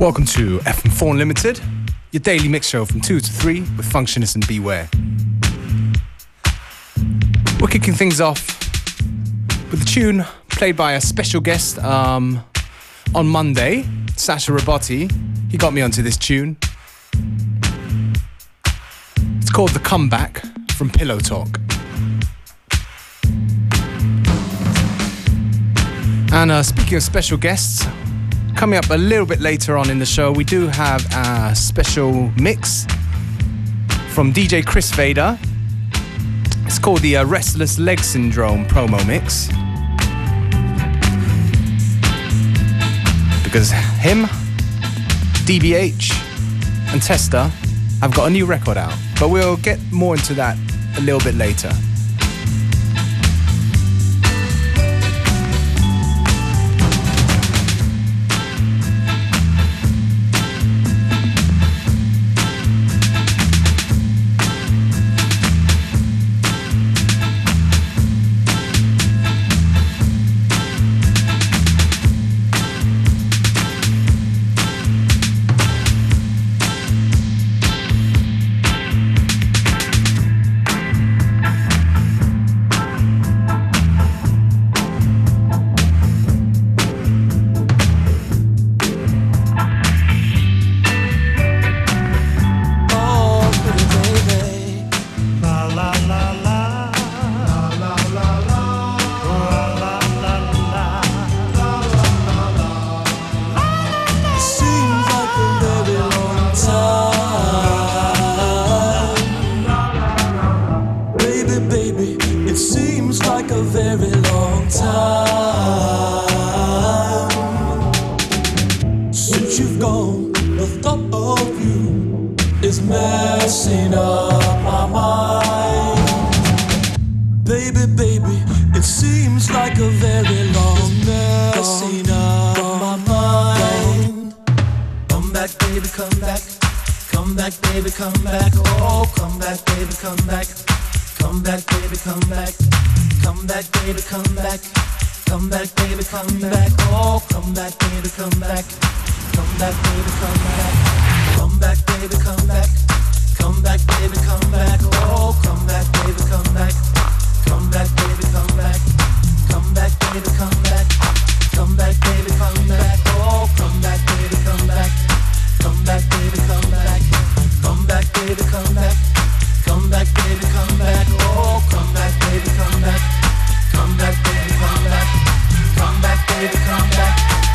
Welcome to FM4 Unlimited, your daily mix show from 2 to 3 with Functionist and Beware. We're kicking things off with a tune played by a special guest on Monday, Sasha Robotti. He got me onto this tune. It's called The Comeback from Pillow Talk. And speaking of special guests, coming up a little bit later on in the show, we do have a special mix from DJ Chris Vader. It's called the Restless Leg Syndrome promo mix. Because him, DBH and Testa have got a new record out. But we'll get more into that a little bit later. Come back, baby, come back.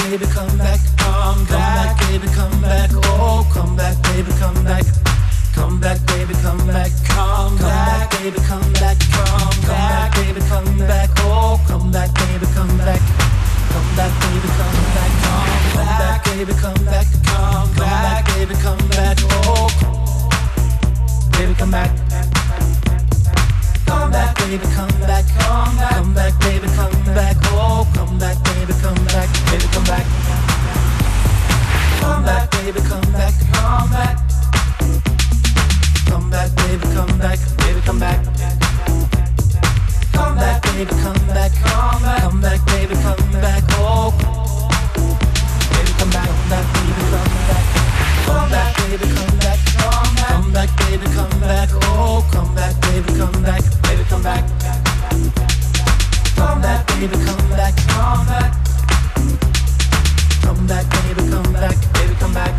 baby, come back, come back, baby, come back, oh, come back, baby, come back. Come back, baby, come back, come back, baby, come back, come back, baby, come back, oh, come back, baby, come back, come back, baby, come back, come back, baby, come back, come back, baby, come back, oh, baby, come back, come back, baby, come back, come back, baby, come back, oh, come back, baby, come back, baby, come back, come back, baby, come back, come back. Come back, baby, come back, baby, come back. Come back, baby, come back, come back, baby, come back, oh. Baby, come back, baby, come back. Come back, baby, come back, come back, baby, come back, oh. Come back, baby, come back, baby, come back. Come back, baby, come back, come back. Come back, baby, come back, baby, come back.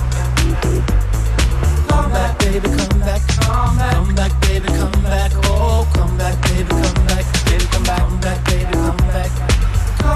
Come back, baby, come back, come back, baby, come back, oh, come back, baby, come back, baby, come back, come back, baby, come back,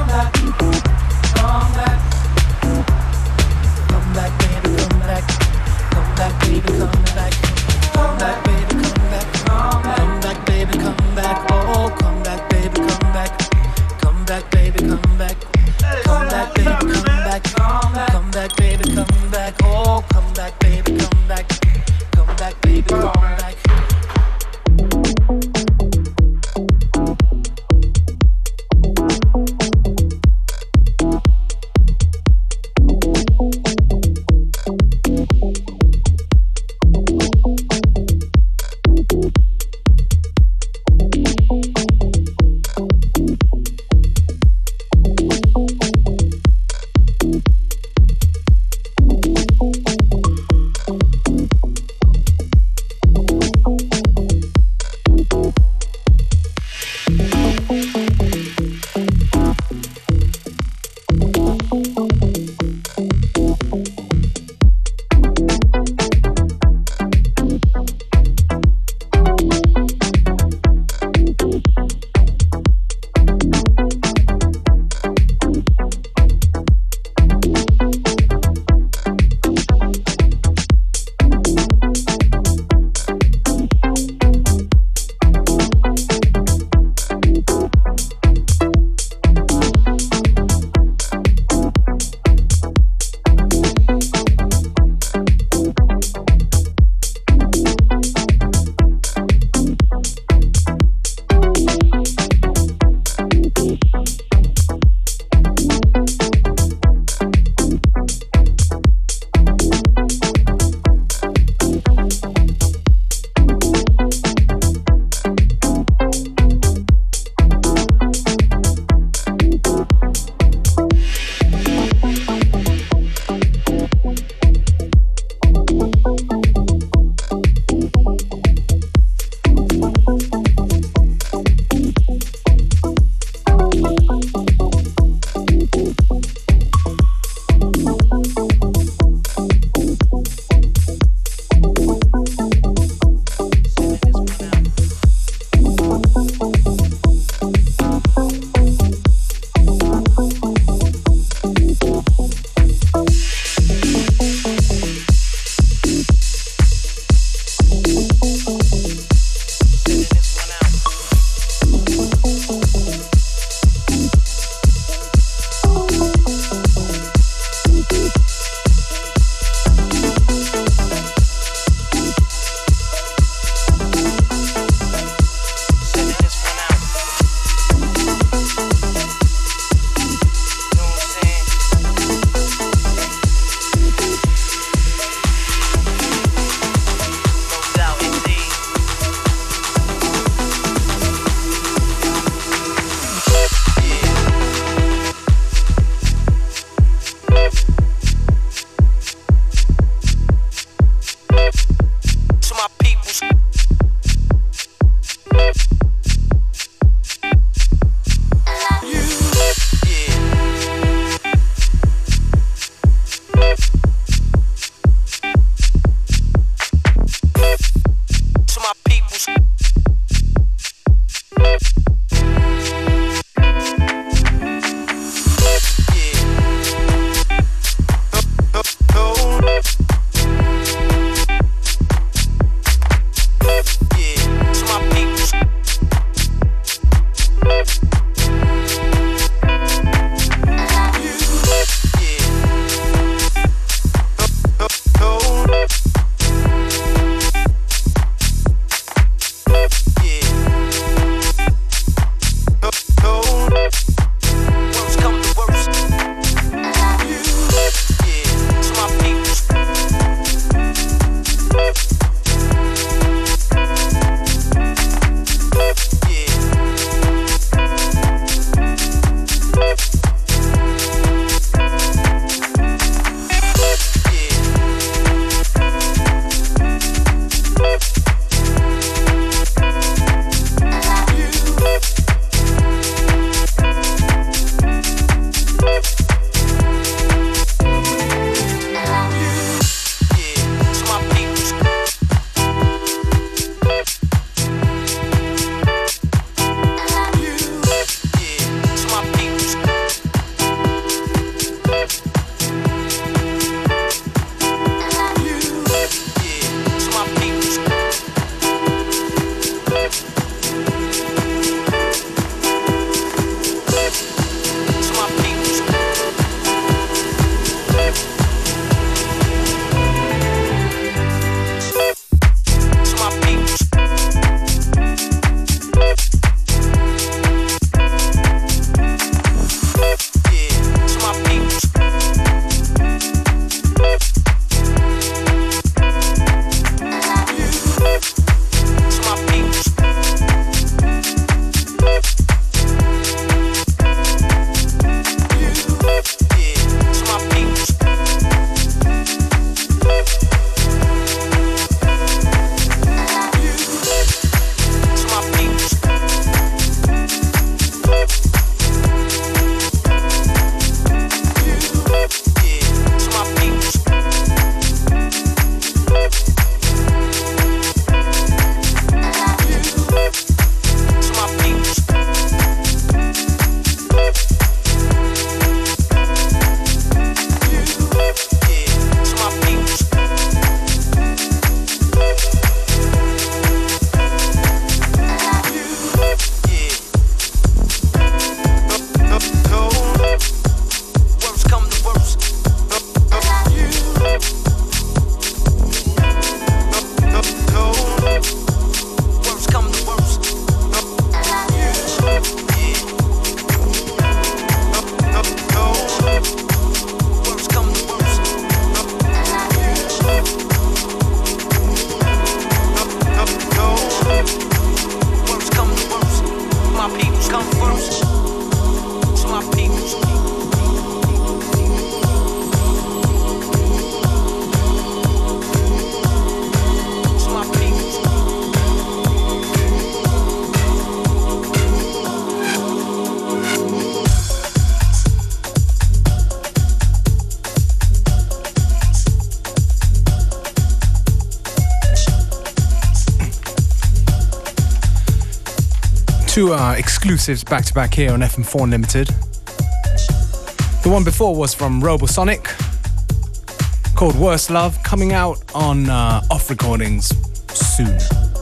Two exclusives back to back here on FM4 Unlimited. The one before was from Robosonic, called Worst Love, coming out on Off Recordings soon.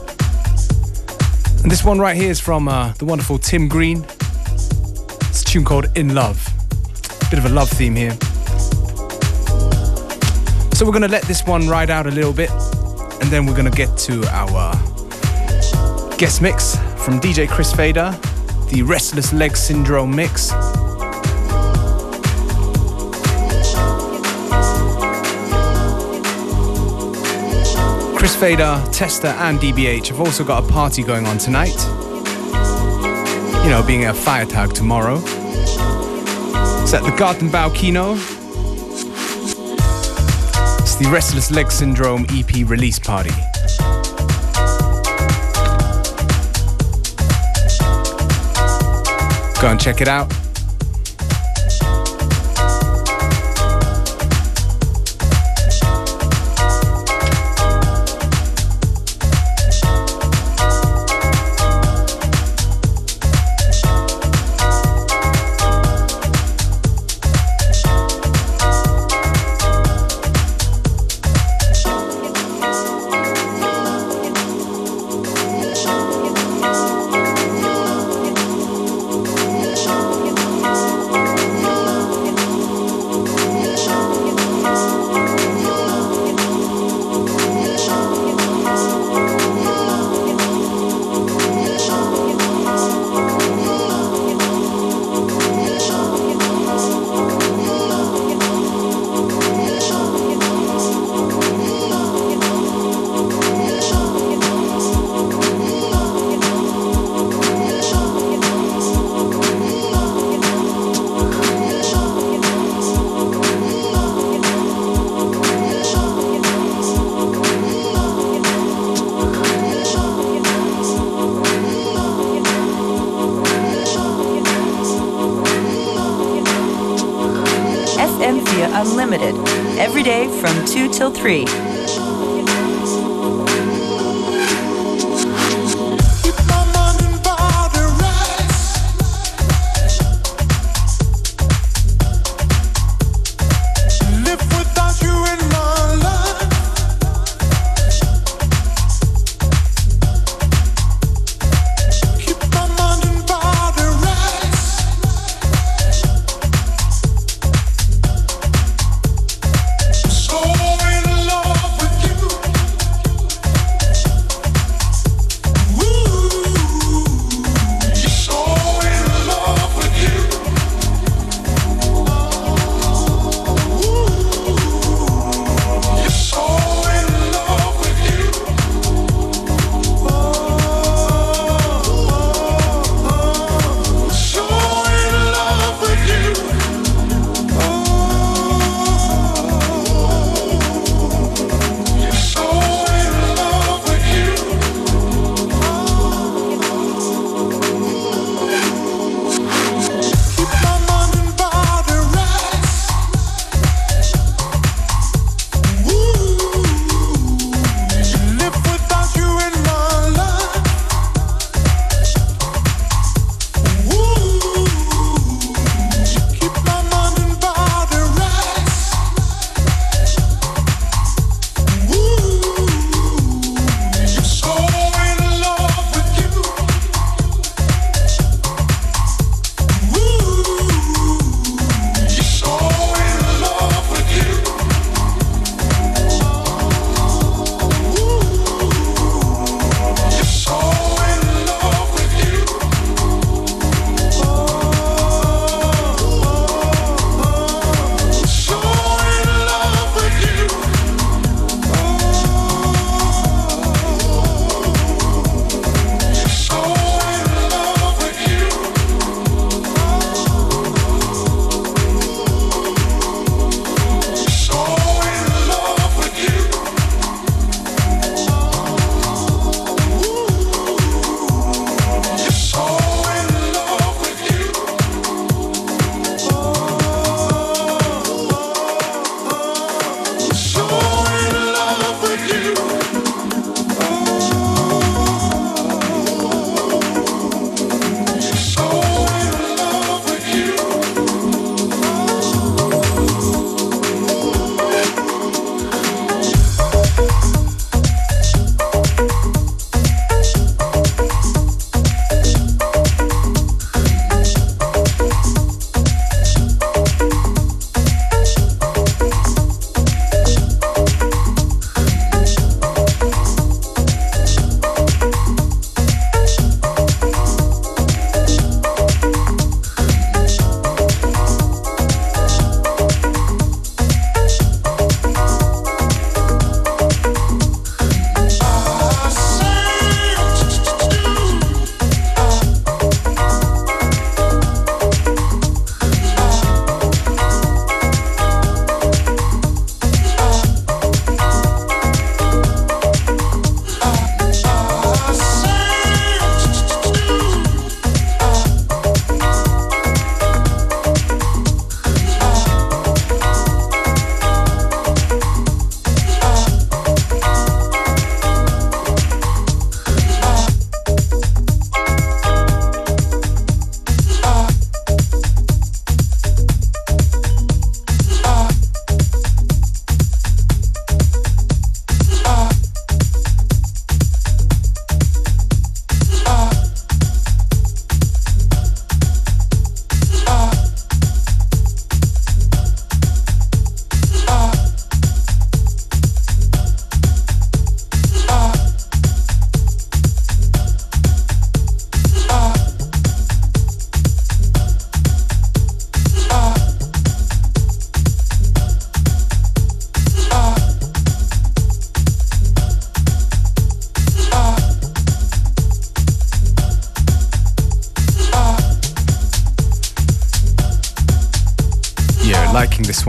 And this one right here is from the wonderful Tim Green. It's a tune called In Love. Bit of a love theme here. So we're going to let this one ride out a little bit, and then we're going to get to our guest mix from DJ Chris Fader, the Restless Leg Syndrome mix. Chris Fader, Tester and DBH have also got a party going on tonight. You know, being a fire tag tomorrow. It's at the Gartenbau Kino. It's the Restless Leg Syndrome EP release party. Go and check it out. Unlimited, every day from 2 till 3. So in love.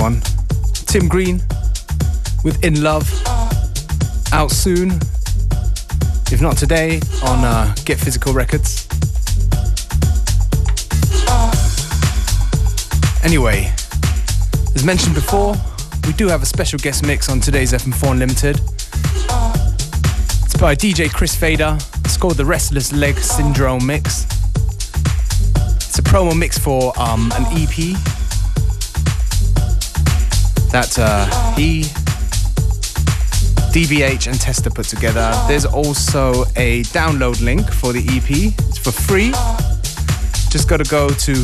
one. Tim Green with In Love, out soon, if not today, on Get Physical Records. Anyway, as mentioned before, we do have a special guest mix on today's FM4 Unlimited. It's by DJ Chris Fader. It's called the Restless Leg Syndrome Mix. It's a promo mix for an EP that he, DBH and Testa put together. There's also a download link for the EP. It's for free. Just got to go to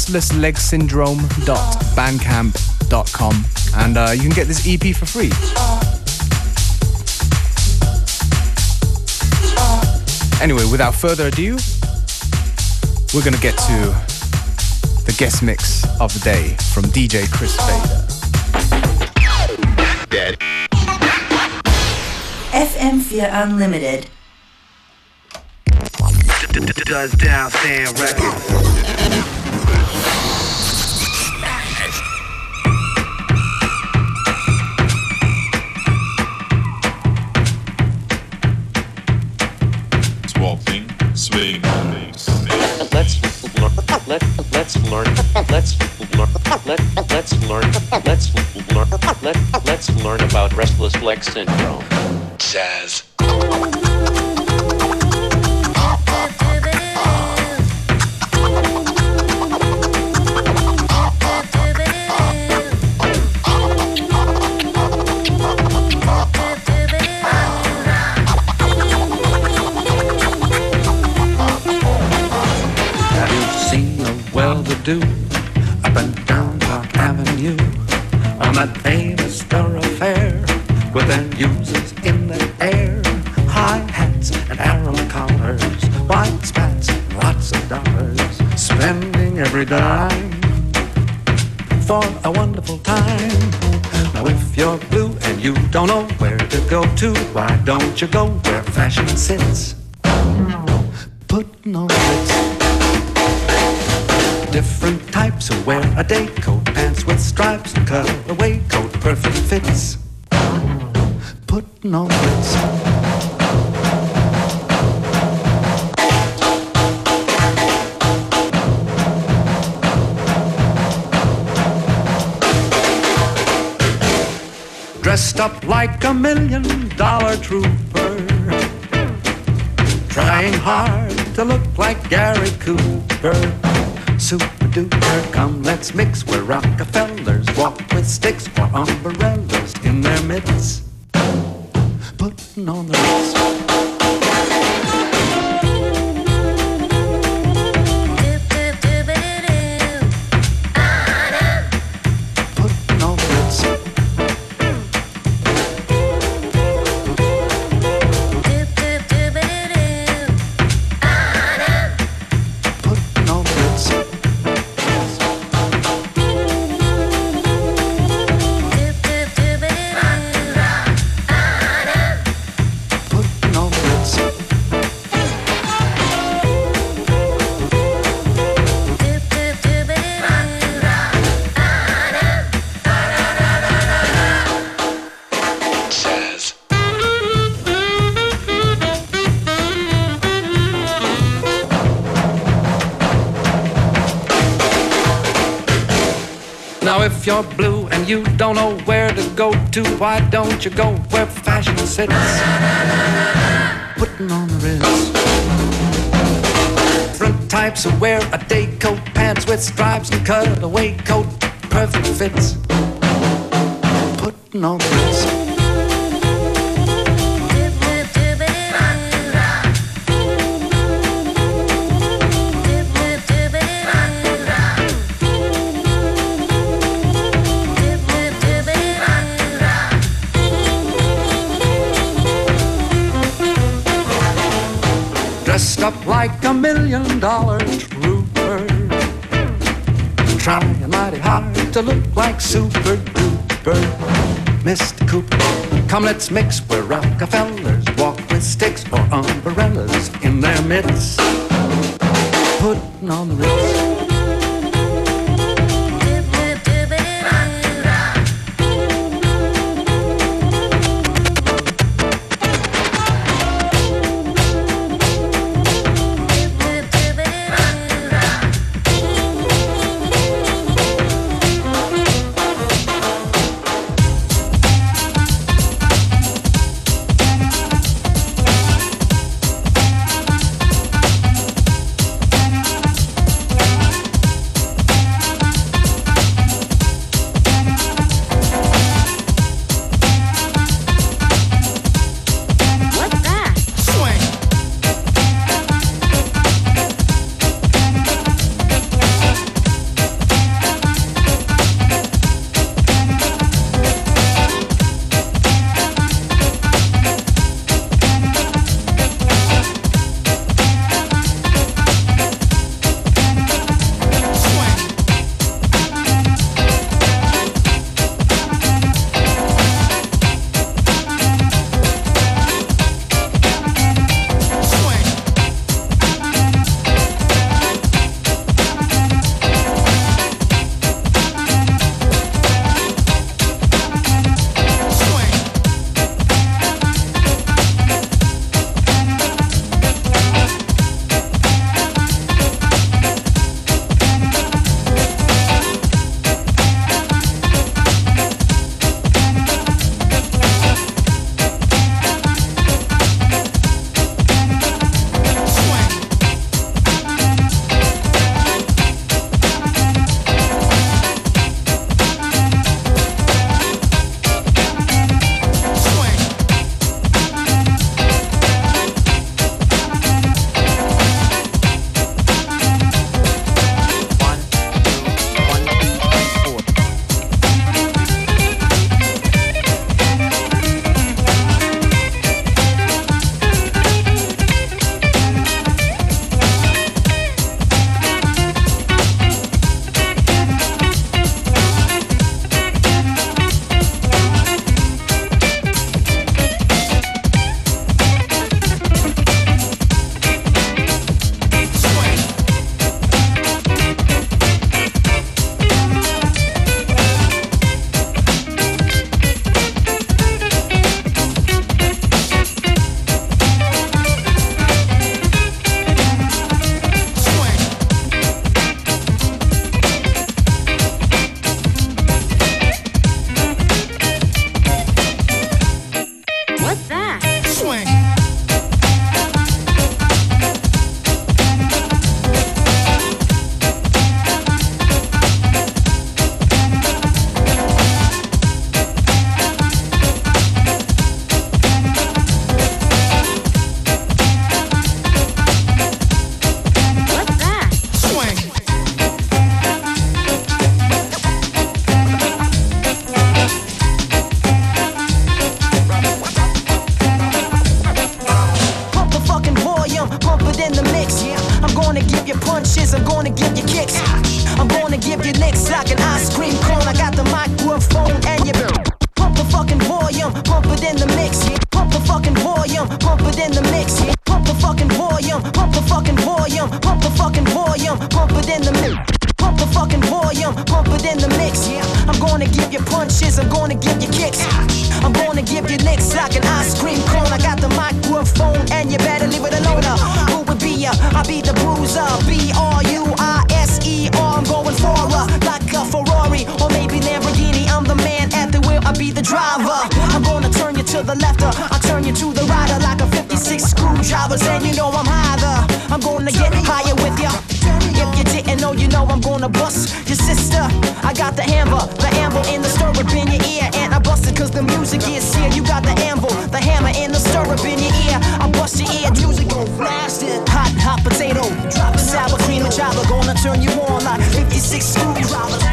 restlesslegsyndrome.bandcamp.com and you can get this EP for free. Anyway, without further ado, we're going to get to the guest mix of the day from DJ Chris Fader. FM4 Unlimited. Does down stand records. Swapping, swing, Let's learn about restless leg syndrome. jazz. Do up and down Park Avenue on that famous thoroughfare with their users in the air, high hats and arrow collars, white spats, lots of dollars, spending every dime for a wonderful time. Now if you're blue and you don't know where to go to, why don't you go where fashion sits, putting on Ritz. Different types who wear a day coat, pants with stripes and cutaway coat, perfect fits, putting on Ritz. Dressed up like $1 million trooper, trying hard to look like Gary Cooper. Super duper, come let's mix where Rockefellers walk with sticks or umbrellas in their midst, putting on the Ritz. Putting on the Ritz. Putting on the Ritz. Now if you're blue and you don't know where to go to, why don't you go where fashion sits, putting on the Ritz. Different types who wear a day coat, pants with stripes and cutaway coat, perfect fits, putting on the Ritz. Dressed up like $1 million trooper, trying mighty hard to look like super duper Mr. Cooper. Come let's mix where Rockefellers walk with sticks or umbrellas in their midst, putting on the Ritz. punches, I'm gonna give you kicks. I'm gonna give you licks like an ice cream cone. I got the microphone and you better leave it alone. Who would be ya? I'll be the bruiser, B-R-U-I-S-E-R. I'm going for like a Ferrari or maybe Lamborghini. I'm the man at the wheel, I'll be the driver. I'm gonna turn you to the left, I'll turn you to the right like a 56 screwdrivers. And you know I'm higher, I'm gonna get higher with ya. If you didn't know, you know I'm gonna bust your sister. I got the hammer in the stirrup in your ear. And I bust it cause the music is here. You got the anvil, the hammer in the stirrup in your ear. I bust your ear, music gon' blast it. Hot potato, drop sour cream and java. Gonna turn you on like 56 screwdrivers.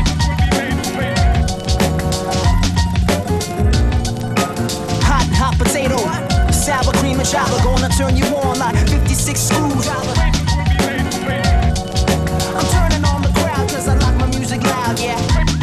Hot potato, sour cream and java. Gonna turn you on like 56 screwdrivers. I'm turning on the crowd cause I like my music loud, yeah.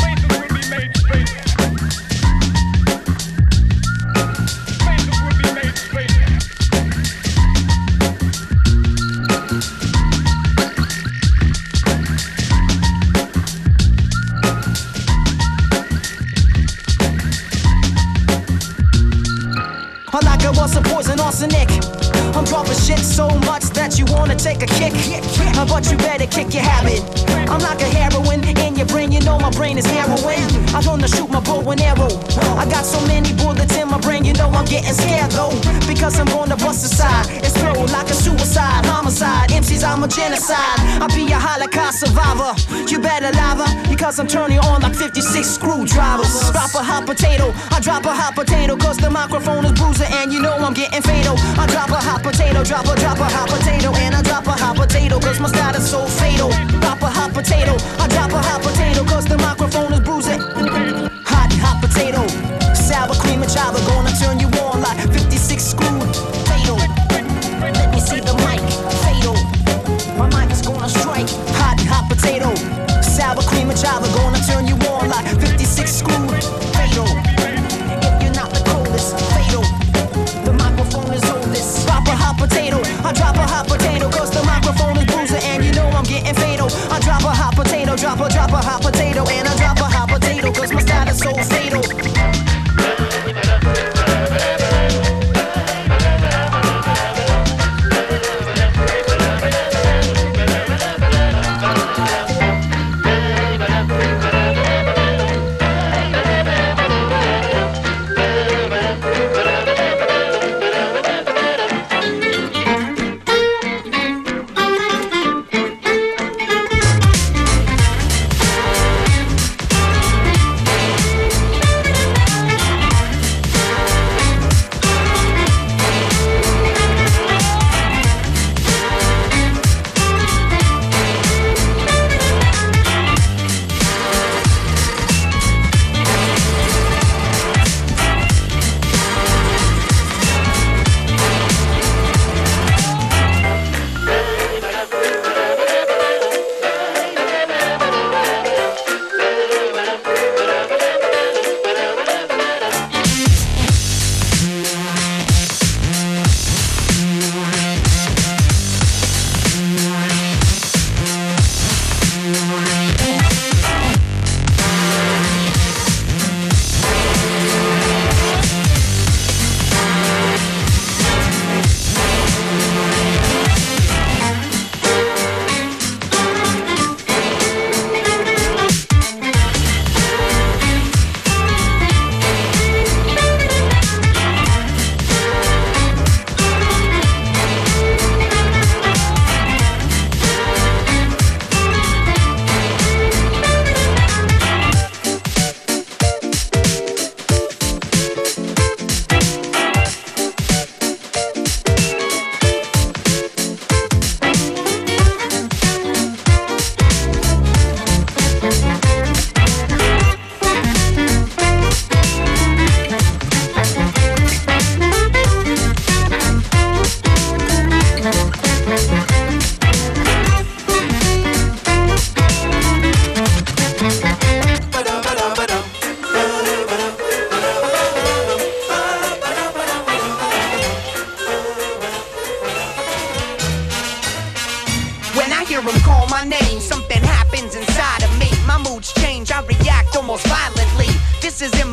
I like it was a poison arsenic. I'm dropping shit so much that you wanna take a kick. But you better kick your habit. I'm like a heroin in your brain, you know my brain is heroin. I'm gonna shoot my bow and arrow. I got so many bullets in my brain, you know I'm getting scared though. Because I'm gonna bust aside, explode like a suicide, homicide. MCs, I'm a genocide. I'll be a Holocaust survivor. You better lava, because I'm turning on like 56 screwdrivers. Drop a hot potato, I drop a hot potato, cause the microphone is bruising and you know I'm getting fatal. I drop a hot potato, drop a hot potato, and I drop a hot potato, cause my style is so fatal. Drop a hot potato, I drop a hot potato, cause the microphone is bruising. Hot potato, sour cream and java, gonna turn you on like 56 screw fatal. Let me see the mic, fatal. My mic is gonna strike. Hot potato, sour cream and java, gonna turn you on like 56 screw fatal. If you're not the coldest, fatal. The microphone is oldest. Drop a hot potato, I drop a hot potato, cause the microphone is bruising and you know I'm getting fatal. I drop a hot potato, drop a hot potato, and I drop a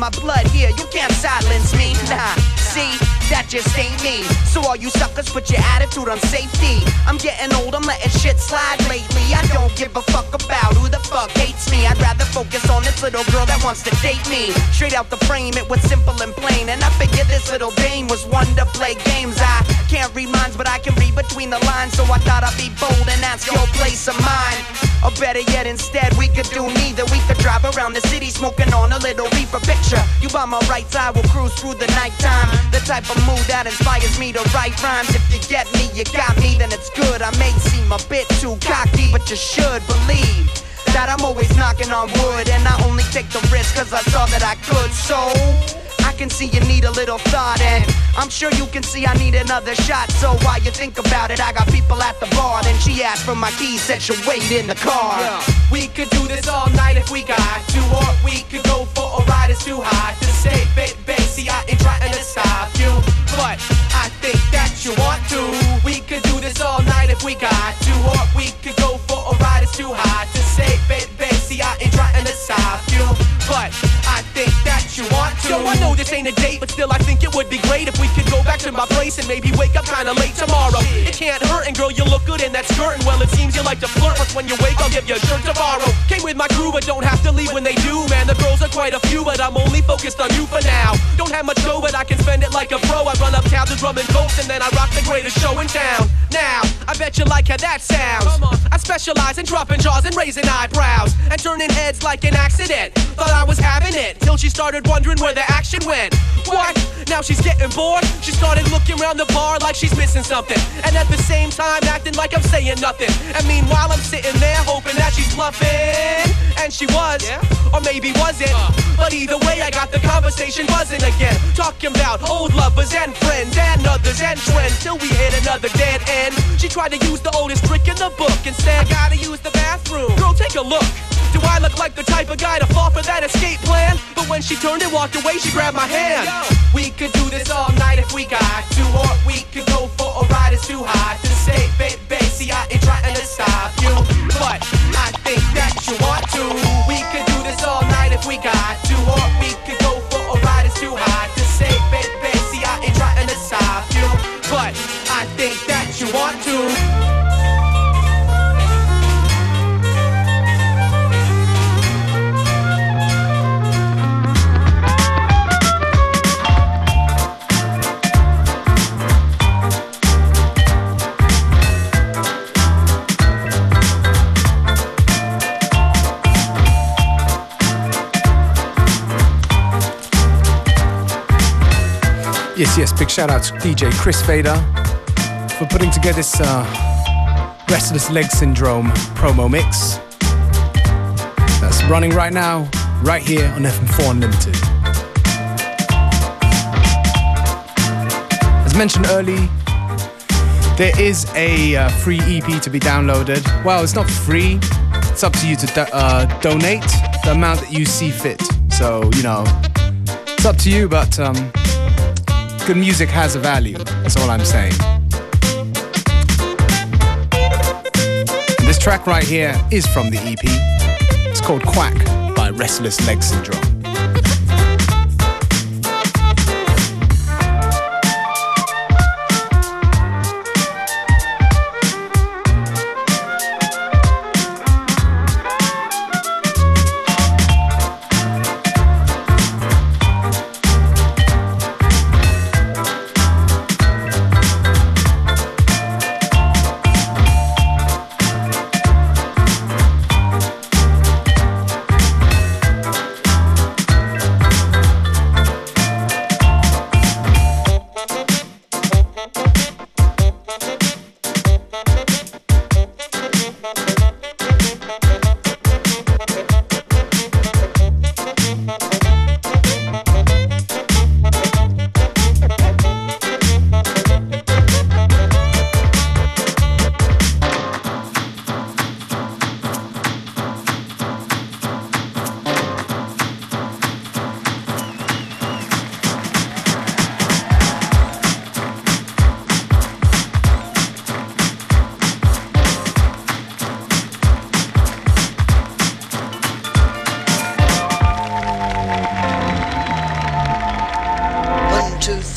my blood here, you can't silence me. Nah, see, that just ain't me. So all you suckers put your attitude on safety. I'm getting old, I'm letting shit slide lately. I don't give a fuck about who the fuck hates me. I'd rather focus on this little girl that wants to date me. Straight out the frame, it was simple and plain. And I figured this little dame was one to play games. I can't read minds, but I can read between the lines. So I thought I'd be bold and ask your place of mine. Or better yet, instead, we could do neither. We could drive around the city smoking on a little reefer. Picture you by my right side, we'll cruise through the nighttime. The type of mood that inspires me to write rhymes. If you get me, you got me, then it's good. I may seem a bit too cocky, but you should believe that I'm always knocking on wood. And I only take the risk cause I saw that I could. So I can see you need a little thought, and I'm sure you can see I need another shot. So while you think about it, I got people at the bar. Then she asked for my keys, said she'll wait in the car. We could do this all night if we got to, or we could go for a ride, it's too hot to say, baby, see I ain't trying to stop you, but I think that you want to. We could do this all night if we got to, or we could go for a ride, it's too hot to say, baby, see I ain't trying to stop you, but I think that you want to. Yo, I know this ain't a date, but still I think it would be great if we could go back to my place and maybe wake up kinda late tomorrow. It can't hurt, and girl, you look good in that skirt, and well, it seems you like to flirt, but when you wake, I'll give you a shirt tomorrow. Came with my crew, but don't have to leave when they do, man, the girls are quite a few, but I'm only focused on you for now. Don't have much dough, but I can spend it like a pro. I run uptown to drum and coast, and then I rock the greatest show in town. Now, I bet you like how that sounds. I specialize in dropping jaws and raising eyebrows, and turning heads like an accident. Thought I was having it, till she started wondering where the action went. What? Now she's getting bored? She started looking around the bar like she's missing something, and at the same time acting like I'm saying nothing. And meanwhile I'm sitting there hoping that she's bluffing. And she was, or maybe wasn't, but either way I got the conversation buzzing again, talking about old lovers and friends and others and trends, till we hit another dead end. She tried to use the oldest trick in the book and said, I gotta use the bathroom. Girl, take a look. Do I look like the type of guy to fall for that escape plan? But when she turned and walked away, she grabbed my hand. We could do this all night if we got to, or we could go for a ride, it's too hot to say, baby, see I ain't trying to stop you, but I think that you want to. We could do this all night if we got to, or we could go for a ride, it's too hot to say, baby, see I ain't trying to stop you, but I think that you want to. Yes, big shout out to DJ Chris Vader for putting together this Restless Leg Syndrome promo mix that's running right now, right here on FM4 Unlimited. As mentioned early, there is a free EP to be downloaded. Well, it's not free, it's up to you to donate the amount that you see fit. So, you know, it's up to you, but good music has a value, that's all I'm saying. This track right here is from the EP. It's called Quack by Restless Leg Syndrome.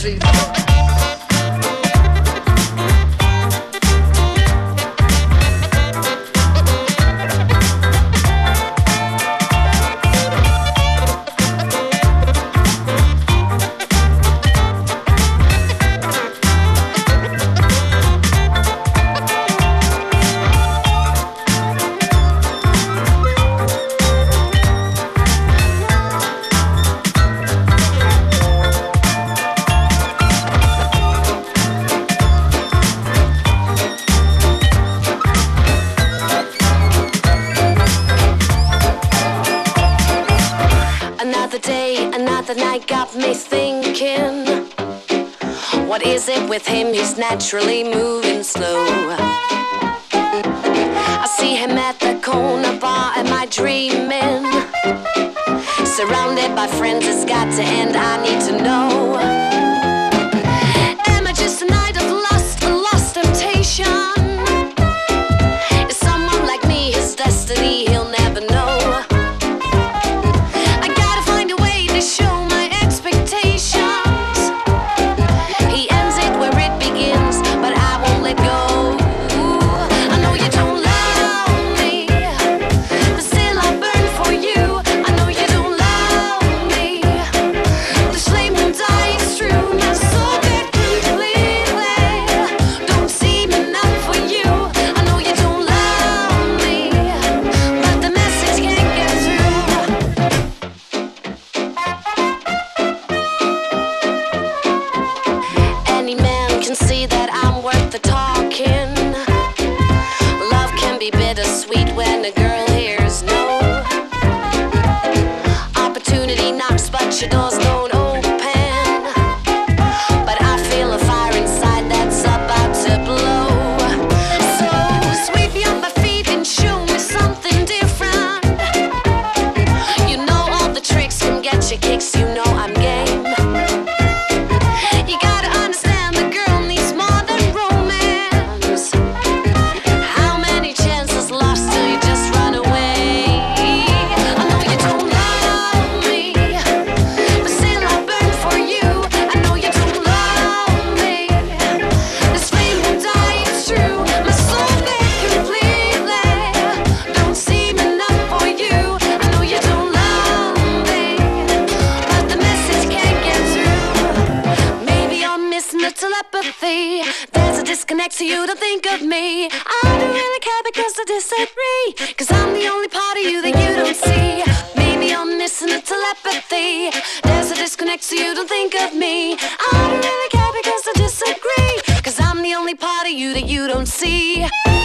see. Got me thinking, what is it with him? He's naturally moving slow. I see him at the corner bar. Am I dreaming? Surrounded by friends, it's got to end. I need to know. Am I just a night of lust, a lost temptation? Is someone like me his destiny? He'll never know. I gotta find a way to show my expectations. He ends it where it begins, but I won't let go. I know you don't love me, but still I burn for you. I know you don't love me. The flame won't die, it's true. My soul bit completely. Don't seem enough for you. I know you don't love me, but the message can't get through. Any man can see that I'm worth the talking. Love can be bittersweet when a girl hears no. Opportunity knocks, but your doors don't open. But I feel a fire inside that's about to blow. So sweep me off my feet and show me something different. You know all the tricks can get you kicks. You know I'm game. You gotta understand the girl needs more than romance. How many chances lost till you just run away? I know you don't love me, but still I burn for you. I know you don't love me. This flame won't die, it's true. My soul bit completely. Don't seem enough for you. I know you don't love me, but the message can't get through. Maybe I'm missing the telepathy. There's a disconnect, so you don't think of me. I don't really care because I disagree. Cause I'm the only part of you that you don't see. Maybe I'm missing the telepathy. There's a disconnect, so you don't think of me. I don't really care because I disagree. Cause I'm the only part of you that you don't see.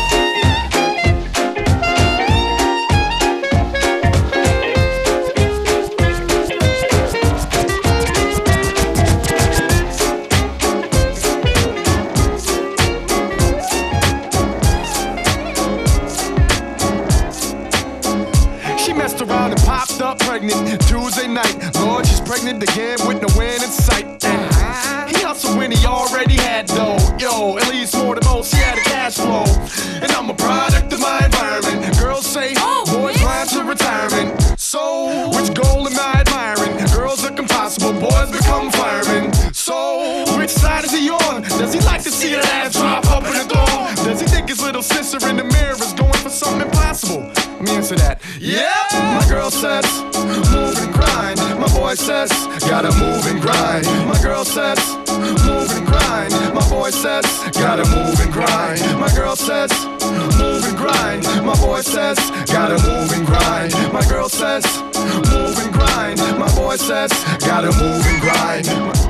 She messed around and popped up pregnant Tuesday night. Lord, she's pregnant again with no end in sight. He hustled when he already had dough. Yo, at least more than most, he had a cash flow. And I'm a product of my environment. Girls say, boys climb to retirement. So, which goal am I admiring? Girls look impossible, boys become firemen. So, which side is he on? Does he like to see that ass drop up in the door? Does he think his little sister in the mirror is going for something impossible? Let me answer that. Yeah, my girl says, move and grind. My boy says, gotta move and grind. My girl says, move and grind. My boy says, gotta move and grind. My girl says, move and grind. My boy says, gotta move and grind. My girl says, move and grind. My boy says, gotta move and grind.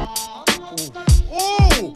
Ooh,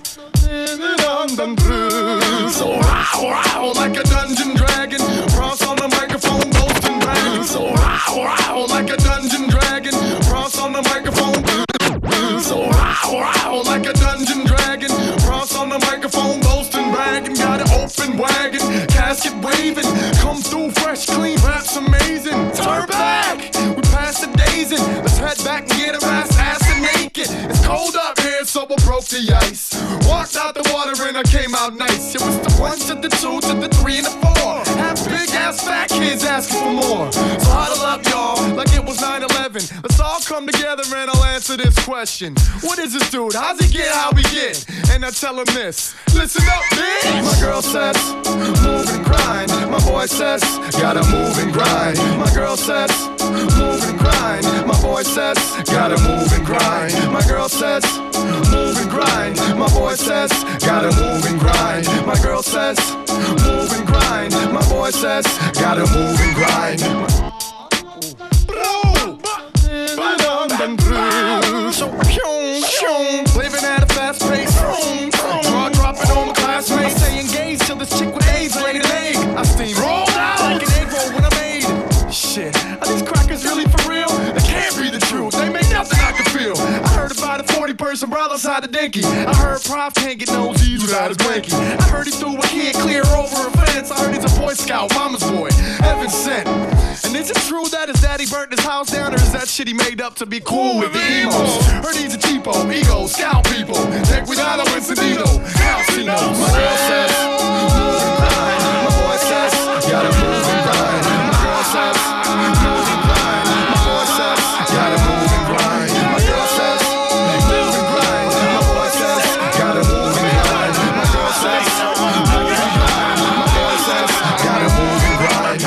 so wow, like a dungeon dragon. Cross on the microphone, boasting bragging. So wow, like a dungeon dragon. Cross on the microphone. So wow, like a dungeon dragon. Cross on the microphone, boasting bragging. Got an open wagon, casket waving. Come through fresh, clean, raps amazing. Turn back, we passed the days in. Let's head back and get our ass naked. It's cold up here, so we broke the ice. Walked out the water and I came out nice. It was the 1 to the 2 to the 3 and the 4. Half big ass fat kids asking for more. So huddle up, y'all, like it was 9/11. Let's all come together and I'll answer this question. What is this dude? How's he get how we get? And I tell him this. Listen up, bitch. My girl says, move and grind. My boy says, gotta move and grind. My girl says, move and grind. My boy says, gotta move and grind. My girl says, move and grind. My boy says, gotta move and grind. My girl says, move and grind. My boy says, gotta move and grind. Living at a fast pace. Draw dropping on my classmates. Stay engaged till this chick with AIDS laid an egg. I steam rolled out like an egg roll when I made it. Shit, are these crackers really for real? They can't be the truth. They make nothing I can feel. I heard about a 40-person brawl outside the dinky. I heard Prof can't get no Z's without his blankie. I heard he threw a kid clear over a fence. I heard he's a Boy Scout, mama's boy, heaven sent. And is it true that his daddy burnt his house down, or is that shit he made up to be cool with the emos? Heard he's a cheapo, ego, scout people. Take cuidado, Encendido, calcinos. My girl says, move and grind. My boy says, gotta move and grind. My girl says, move and grind. My boy says, gotta move and grind. My girl says, move and grind. My boy says, gotta move and grind. My girl says, move and grind. My boy says, gotta move and grind.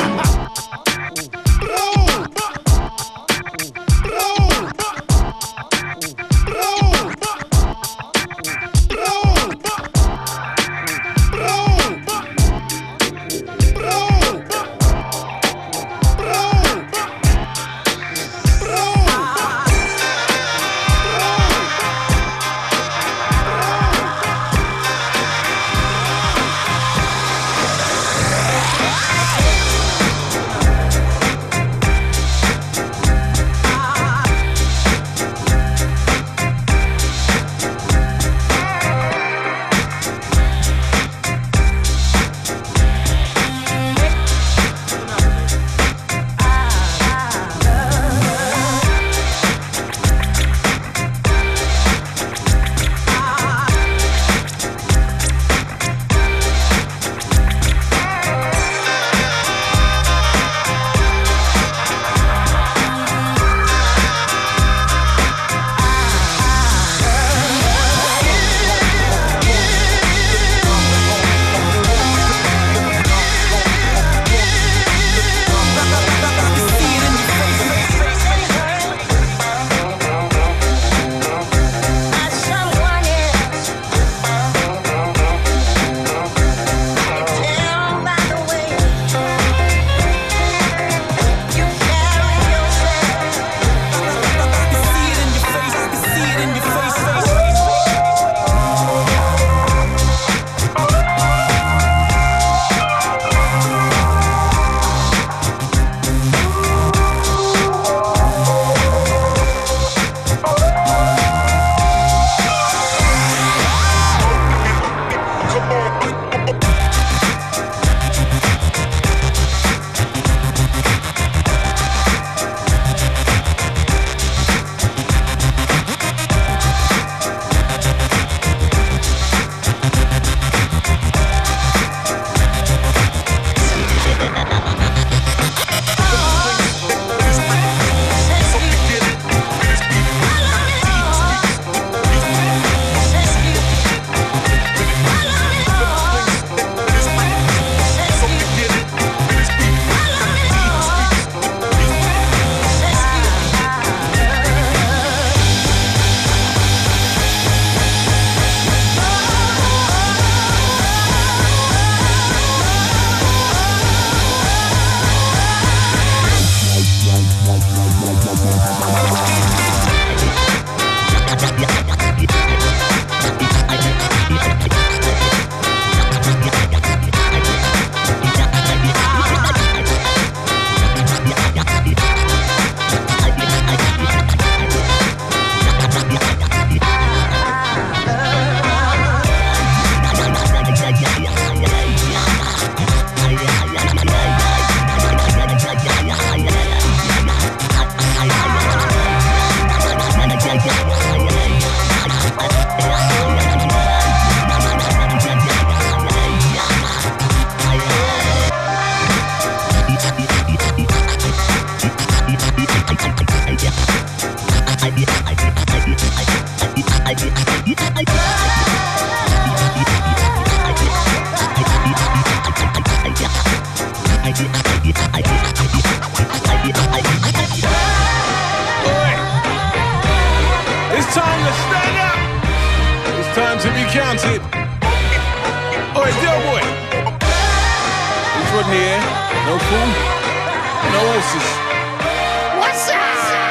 to stand up. It's time to be counted. Oi, Delboy. It's Rodney here. No fool, no horses. What's up?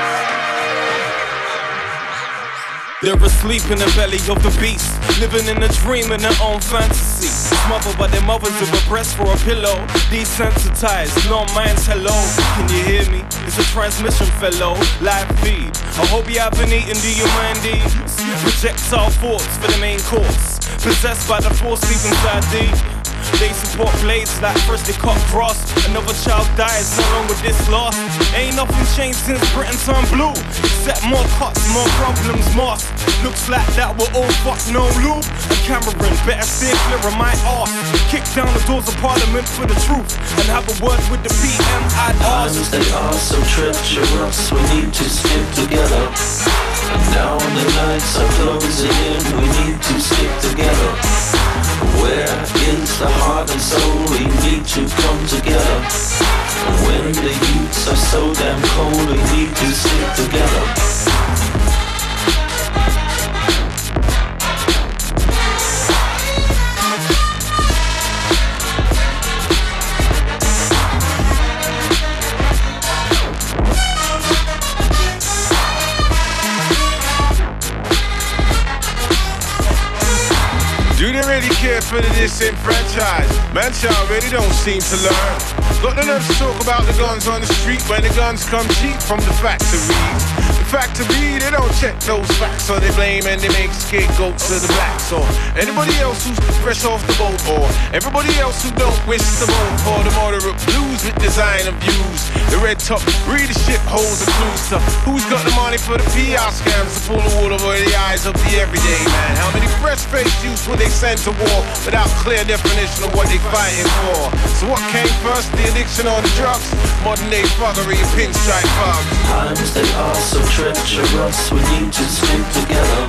They're asleep in the belly of the beast, living in a dream in their own fantasy. Smothered by their mothers with a breast for a pillow. Desensitized, no minds, hello. Can you hear me? It's a transmission, fellow. Live feed. I hope you have been eating, do you mind these? Projectile thoughts for the main course. Possessed by the force deep inside thee. They support blades like freshly cut grass. Another child dies, no longer this loss. Ain't nothing changed since Britain turned blue, except more cuts, more problems, more. Looks like that we're all fucked, no loop. And Cameron, better steer clear of my arse. Kick down the doors of Parliament for the truth and have a word with the PM. I'd ask. Times they are so treacherous, we need to stick together. And now the nights are closing in, we need to stick together. Where is the heart and soul? We need to come together. When the youths are so damn cold, we need to stick together. Do they really care for the disenfranchised? Man, child really don't seem to learn. Got the nerve to talk about the guns on the street when the guns come cheap from the factories. The factory, they don't check those facts, so they blame and they make scapegoats of the blacks or anybody else who's fresh off the boat, or everybody else who don't wish to vote for the moderate blues with designer views. The red top readership holds the clues to who's got the money for the PR scams to pull the wool over the eyes of the everyday man. How many fresh-faced youths will they send to war without clear definition of what they fighting for? So what came first, the addiction or the drugs? Modern day fuckery and pinstripe bugs. Times they are so treacherous, we need to stick together.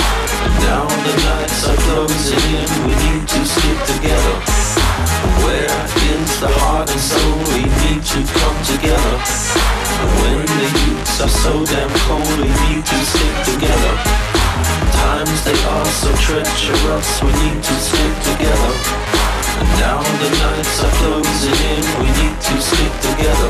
Now the nights are closing in, we need to stick together. Where is the heart and soul? We need to come together. When the youths are so damn cold, we need to stick together. Times they are so treacherous, we need to stick together. And now the nights are closing in, we need to stick together.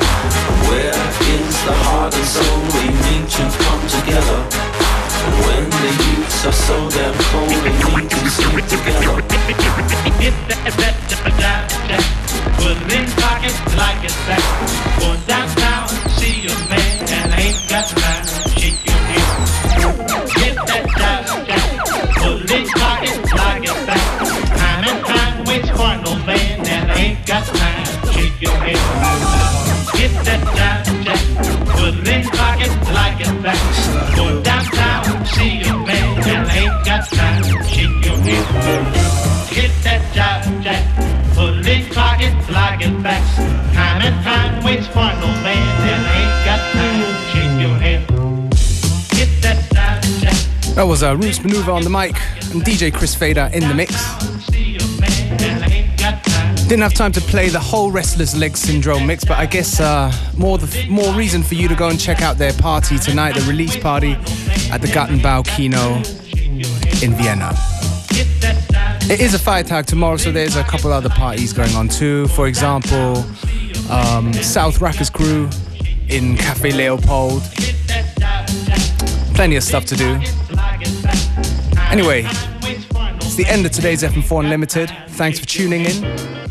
Where is the heart and soul? We need to come together. When the youths are so damn cold, we need to stick together. Get that, put it in pocket like it's back. Go downtown, see your man, and ain't got time. Shake your head. Get that, put it in pocket like it's back. Time and time waits for no man, and ain't got time. Shake your head. Get that, put it in pocket like it's back. Go downtown, see your man, and ain't got time. Shake your head. Get that Jack, put it in pocket like it's back. Time and time waits for no man, and ain't got time. Shake your head. Get that Jack. That was Roots Maneuver on the mic and DJ Chris Fader in the mix. Didn't have time to play the whole Restless Leg Syndrome mix, but I guess more reason for you to go and check out their party tonight, the release party at the Gartenbau Kino in Vienna. It is a Feiertag tomorrow, so there's a couple other parties going on too. For example, South Rackers Crew in Cafe Leopold. Plenty of stuff to do. Anyway, it's the end of today's FM4 Unlimited. Thanks for tuning in.